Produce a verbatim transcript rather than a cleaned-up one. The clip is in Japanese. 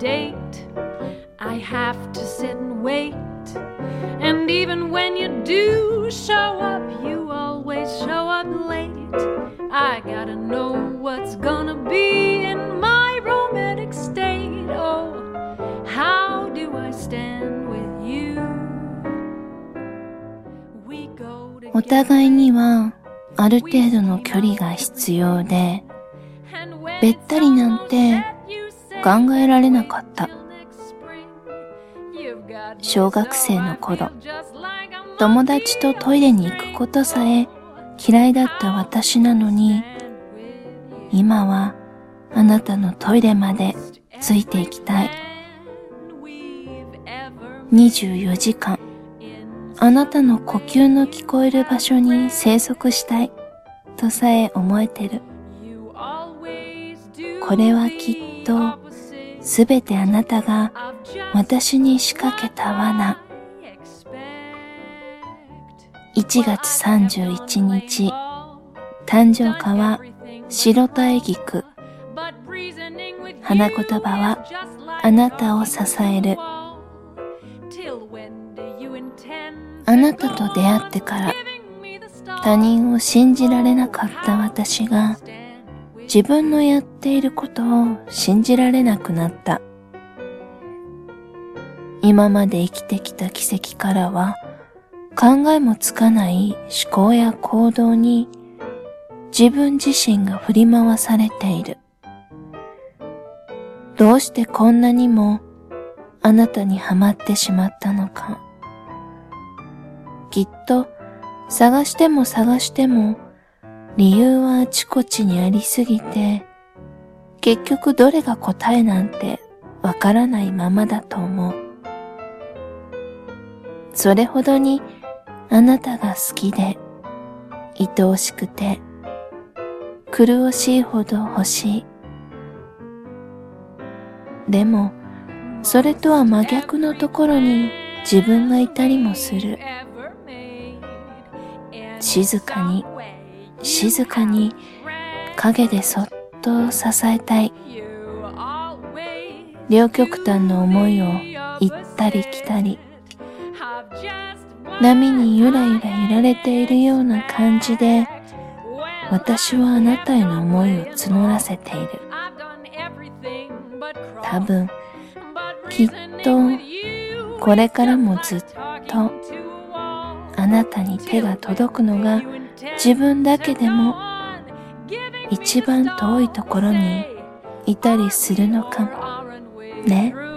date. I have to sit and wait. And even when you do show up, you always show up late. I gotta know what's gonna be in my romantic state. Oh, how do I stand with you? We go together. お互いにはある程度の距離が必要で、べったりなんて考えられなかった。小学生の頃、友達とトイレに行くことさえ嫌いだった私なのに、今はあなたのトイレまでついていきたい。にじゅうよじかん、あなたの呼吸の聞こえる場所に生息したいとさえ思えてる。これはきっとすべてあなたが私に仕掛けた罠。いちがつさんじゅういちにち、誕生花は白体菊。花言葉はあなたを支える。あなたと出会ってから他人を信じられなかった私が自分のやっていることを信じられなくなった。今まで生きてきた奇跡からは考えもつかない思考や行動に自分自身が振り回されている。どうしてこんなにもあなたにはまってしまったのか。きっと探しても探しても理由はあちこちにありすぎて、結局どれが答えなんてわからないままだと思う。それほどにあなたが好きで、愛おしくて、苦しいほど欲しい。でも、それとは真逆のところに自分がいたりもする。静かに、静かに影でそっと支えたい。両極端の思いを行ったり来たり、波にゆらゆら揺られているような感じで、私はあなたへの思いを募らせている。多分、きっとこれからもずっとあなたに手が届くのが自分だけでも一番遠いところにいたりするのかもね。